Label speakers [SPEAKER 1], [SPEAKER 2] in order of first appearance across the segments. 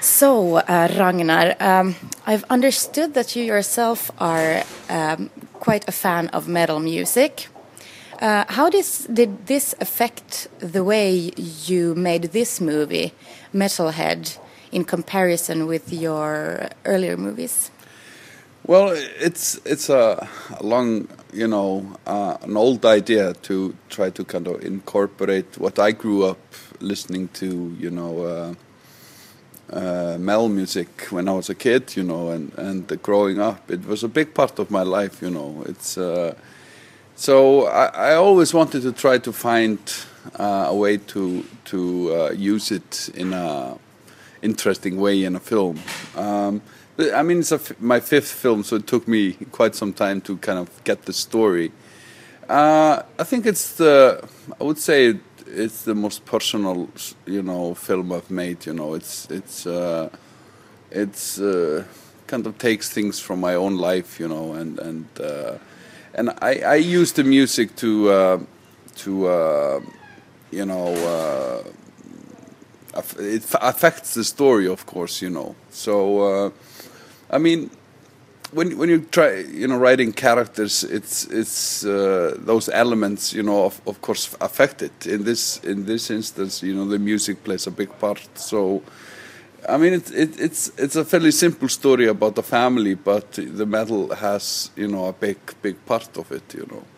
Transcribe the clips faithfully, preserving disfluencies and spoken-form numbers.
[SPEAKER 1] So, uh, Ragnar, um, I've understood that you yourself are um, quite a fan of metal music. Uh, how this, did this affect the way you made this movie, Metalhead, in comparison with your earlier movies?
[SPEAKER 2] Well, it's it's a, a long, you know, uh, an old idea to try to kind of incorporate what I grew up listening to, you know, uh, uh, metal music when I was a kid, you know, and and the growing up. It was a big part of my life, you know. It's uh, so I, I always wanted to try to find uh, a way to to uh, use it in a interesting way in a film. Um, I mean, it's a f my fifth film, so it took me quite some time to kind of get the story. Uh, I think it's the, I would say it's the most personal, you know, film I've made. You know, it's it's uh, it's uh, kind of takes things from my own life, you know, and and uh, and I I use the music to uh, to uh, you know. Uh, It affects the story, of course, you know. So, uh, I mean, when when you try, you know, writing characters, it's it's uh, those elements, you know, of, of course, affect it. In this in this instance, you know, the music plays a big part. So, I mean, it, it, it's it's a fairly simple story about a family, but the metal has, you know, a big big part of it, you know.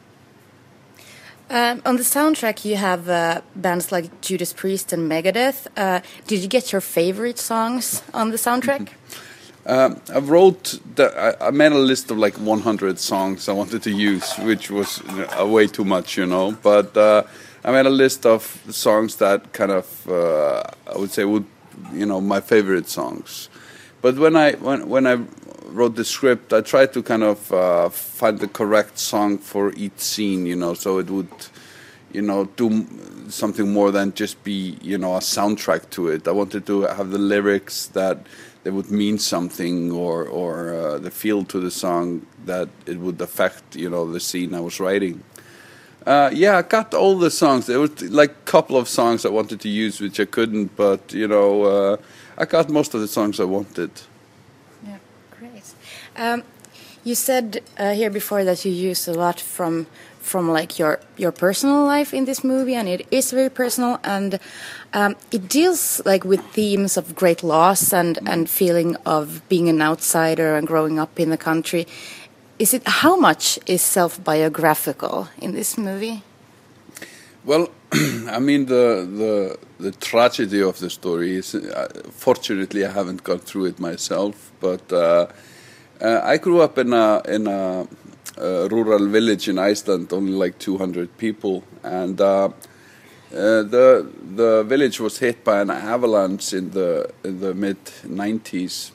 [SPEAKER 1] Um, on the soundtrack, you have uh, bands like Judas Priest and Megadeth. Uh, did you get your favorite songs on the soundtrack?
[SPEAKER 2] um, I wrote, the, I, I made a list of like one hundred songs I wanted to use, which was uh, way too much, you know. But uh, I made a list of songs that kind of, uh, I would say, would, you know, my favorite songs. But when I when when I wrote the script, I tried to kind of uh, find the correct song for each scene, you know, so it would, you know, do something more than just be, you know, a soundtrack to it. I wanted to have the lyrics that they would mean something, or or uh, the feel to the song that it would affect, you know, the scene I was writing. Uh, yeah, I got all the songs. There was like a couple of songs I wanted to use, which I couldn't, but, you know, uh, I got most of the songs I wanted.
[SPEAKER 1] Yeah, great. Um, you said uh, here before that you use a lot from from like your your personal life in this movie, and it is very personal, and um, it deals like with themes of great loss and and feeling of being an outsider and growing up in the country. Is it, how much is self-biographical in this movie?
[SPEAKER 2] Well, I mean, the the the tragedy of the story is, uh, fortunately, I haven't gone through it myself, but uh, uh, I grew up in a in a, a rural village in Iceland, only like two hundred people, and uh, uh, the the village was hit by an avalanche in the in the mid nineties.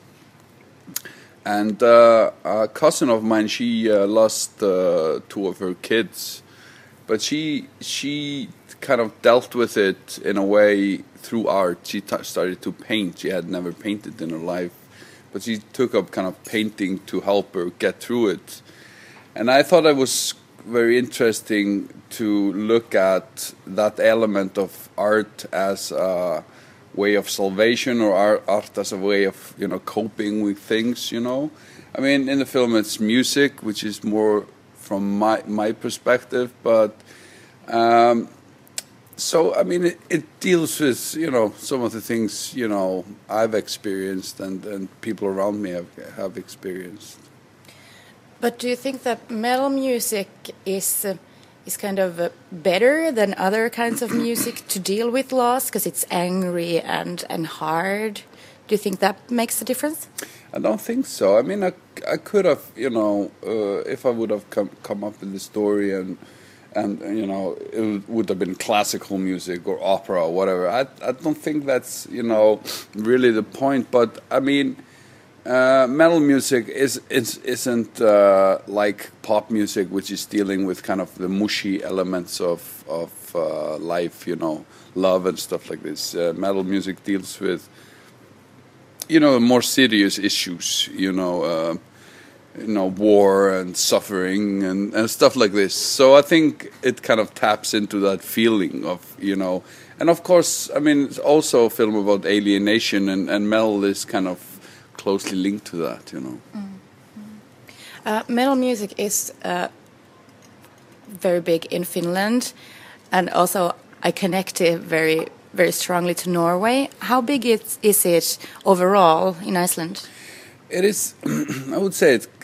[SPEAKER 2] And uh, a cousin of mine, she uh, lost uh, two of her kids, but she she kind of dealt with it in a way through art. She t started to paint. She had never painted in her life, but she took up kind of painting to help her get through it. And I thought it was very interesting to look at that element of art as a way of salvation, or art as a way of, you know, coping with things, you know. I mean, in the film it's music, which is more from my my perspective, but um, so I mean it, it deals with, you know, some of the things, you know, I've experienced and and people around me have have experienced.
[SPEAKER 1] But do you think that metal music is uh, is kind of uh, better than other kinds of music to deal with loss, because it's angry and and hard? Do you think that makes a difference?
[SPEAKER 2] I don't think so. I mean, I, I could have, you know, uh, if I would have come come up with the story and and you know, it would have been classical music or opera or whatever. I I don't think that's, you know, really the point. But I mean, Uh, metal music is, is isn't uh, like pop music, which is dealing with kind of the mushy elements of of uh, life, you know, love and stuff like this. Uh, metal music deals with, you know, more serious issues, you know, uh, you know, war and suffering and, and stuff like this. So I think it kind of taps into that feeling of, you know, and of course, I mean, it's also a film about alienation, and, and metal is kind of closely linked to that, you know.
[SPEAKER 1] Mm. Uh, metal music is uh, very big in Finland, and also I connect it very, very strongly to Norway. How big is, is it overall in Iceland?
[SPEAKER 2] It is, I would say it's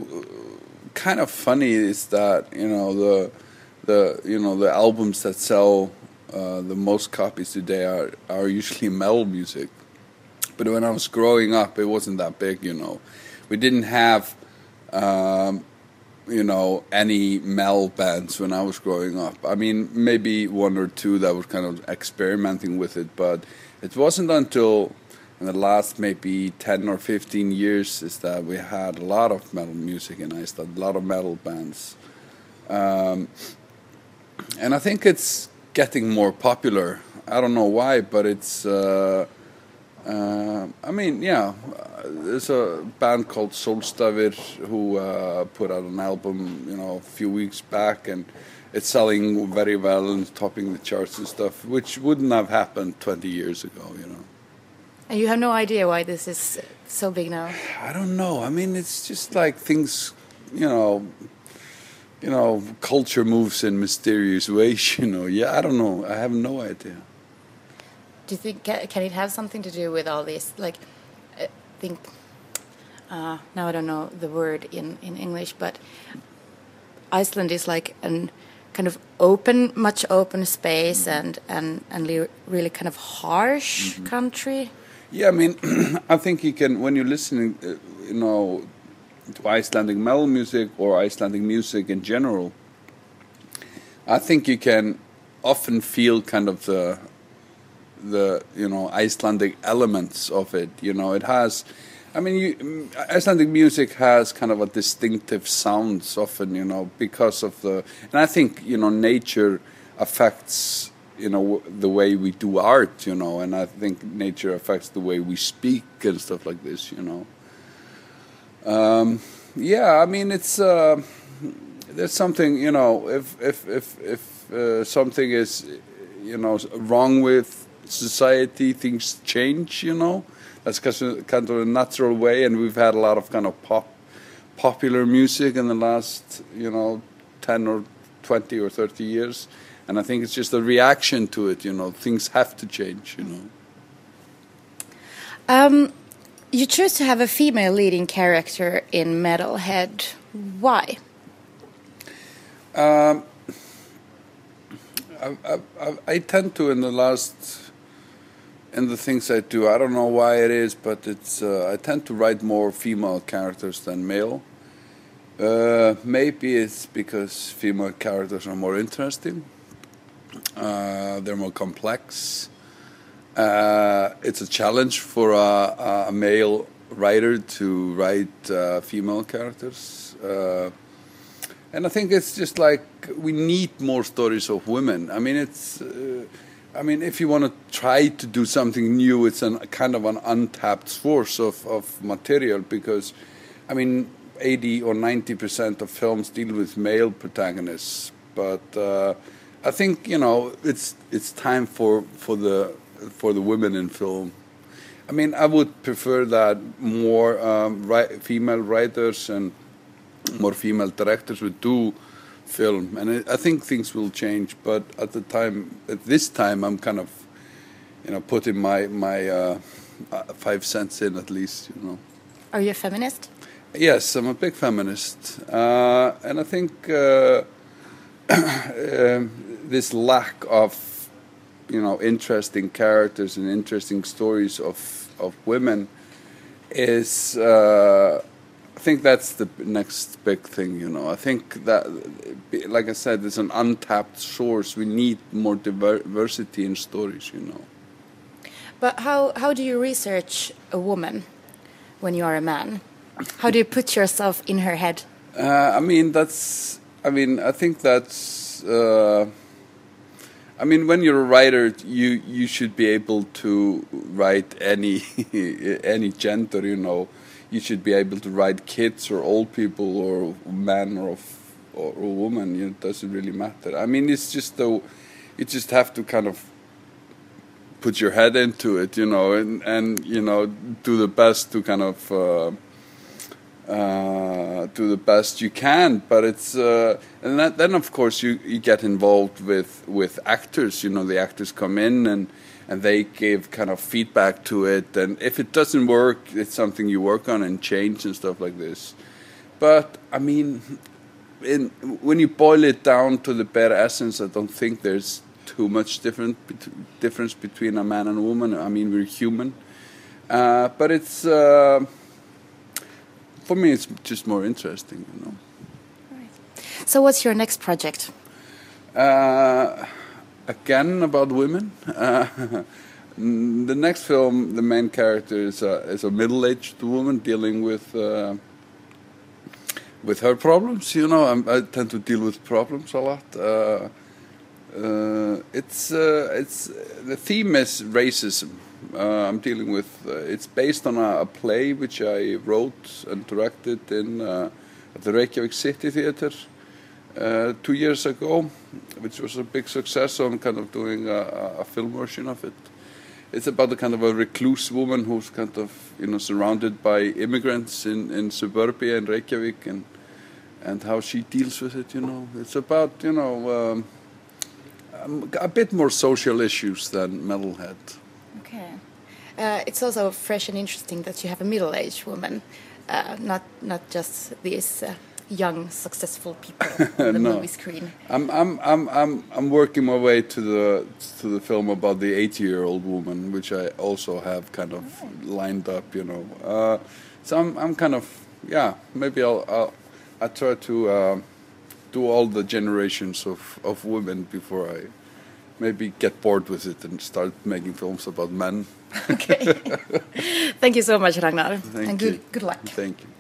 [SPEAKER 2] kind of funny is that, you know, the, the you know, the albums that sell uh, the most copies today are, are usually metal music. But when I was growing up, it wasn't that big, you know. We didn't have... Um, you know, any metal bands when I was growing up. I mean, maybe one or two that were kind of experimenting with it, but it wasn't until in the last maybe ten or fifteen years is that we had a lot of metal music in Iceland, a lot of metal bands. Um, and I think it's getting more popular. I don't know why, but it's... Uh, Uh, I mean, yeah, uh, there's a band called Solstafir who uh, put out an album, you know, a few weeks back, and it's selling very well and topping the charts and stuff, which wouldn't have happened twenty years ago, you know.
[SPEAKER 1] And you have no idea why this is so big now?
[SPEAKER 2] I don't know. I mean, it's just like things, you know, you know, culture moves in mysterious ways, you know. Yeah, I don't know. I have no idea.
[SPEAKER 1] Do you think can, can it have something to do with all this? Like, I think uh, now I don't know the word in, in English, but Iceland is like an kind of open, much open space, mm-hmm. and and and le- really kind of harsh mm-hmm. country.
[SPEAKER 2] Yeah, I mean, I think you can when you're listening, uh, you know, to Icelandic metal music or Icelandic music in general. I think you can often feel kind of the. the you know Icelandic elements of it. You know, it has, I mean, you, Icelandic music has kind of a distinctive sounds often, you know, because of the, and I think, you know, nature affects, you know, the way we do art, you know, and I think nature affects the way we speak and stuff like this, you know. Um, yeah, I mean, it's, uh, there's something, you know, if, if, if, if uh, something is, you know, wrong with society, things change, you know. That's kind of a natural way, and we've had a lot of kind of pop, popular music in the last, you know, ten or twenty or thirty years, and I think it's just a reaction to it, you know. Things have to change, you know.
[SPEAKER 1] Um, you chose to have a female leading character in Metalhead. Why? Um,
[SPEAKER 2] I, I, I tend to, in the last... in the things I do, I don't know why it is, but it's uh, I tend to write more female characters than male. Uh, maybe it's because female characters are more interesting. Uh, they're more complex. Uh, it's a challenge for a, a male writer to write uh, female characters. Uh, and I think it's just like we need more stories of women. I mean, it's... Uh, I mean, if you want to try to do something new, it's a kind of an untapped source of, of material because, I mean, eighty or ninety percent of films deal with male protagonists. But uh, I think, you know, it's it's time for, for the for the women in film. I mean, I would prefer that more um, ri- female writers and more female directors would do film, and it, I think things will change. But at the time, at this time, I'm kind of, you know, putting my my uh, uh, five cents in at least. You know.
[SPEAKER 1] Are you a feminist?
[SPEAKER 2] Yes, I'm a big feminist, uh, and I think uh, um, this lack of, you know, interesting characters and interesting stories of of women is. Uh, I think that's the next big thing, you know. I think that, like I said, it's an untapped source. We need more diversity in stories, you know.
[SPEAKER 1] But how, how do you research a woman when you are a man? How do you put yourself in her head?
[SPEAKER 2] Uh, I mean, that's... I mean, I think that's... Uh, I mean, when you're a writer, you, you should be able to write any any gender, you know. You should be able to write kids or old people or man or or, or woman. You know, it doesn't really matter. I mean, it's just the you just have to kind of put your head into it, you know, and and you know do the best to kind of. Uh, Uh, do the best you can, but it's uh, and that, then of course you, you get involved with, with actors. You know, the actors come in and and they give kind of feedback to it, and if it doesn't work, it's something you work on and change and stuff like this. But I mean, in, when you boil it down to the bare essence, I don't think there's too much different bet- difference between a man and a woman. I mean, we're human, uh, but it's. Uh, For me, it's just more interesting, you know.
[SPEAKER 1] Right. So, what's your next project?
[SPEAKER 2] Uh, again, about women. Uh, the next film, the main character is a, is a middle-aged woman dealing with uh, with her problems. You know, I'm, I tend to deal with problems a lot. Uh, uh, it's uh, it's the theme is racism. Uh, I'm dealing with. Uh, it's based on a, a play which I wrote and directed in uh, at the Reykjavik City Theatre uh, two years ago, which was a big success. So I'm kind of doing a, a film version of it. It's about a kind of a recluse woman who's kind of you know surrounded by immigrants in, in suburbia in Reykjavik, and and how she deals with it. You know, it's about you know um, a bit more social issues than Metalhead.
[SPEAKER 1] Okay. Uh, it's also fresh and interesting that you have a middle-aged woman, uh, not not just these uh, young, successful people on the
[SPEAKER 2] no.
[SPEAKER 1] movie screen.
[SPEAKER 2] I'm I'm I'm I'm I'm working my way to the to the film about the eighty-year-old woman, which I also have kind of oh. lined up, you know. Uh, so I'm I'm kind of yeah. Maybe I'll I'll I try to uh, do all the generations of of women before I. Maybe get bored with it and start making films about men.
[SPEAKER 1] Okay. Thank you so much, Ragnar.
[SPEAKER 2] Thank
[SPEAKER 1] and
[SPEAKER 2] you.
[SPEAKER 1] good, good luck.
[SPEAKER 2] Thank you.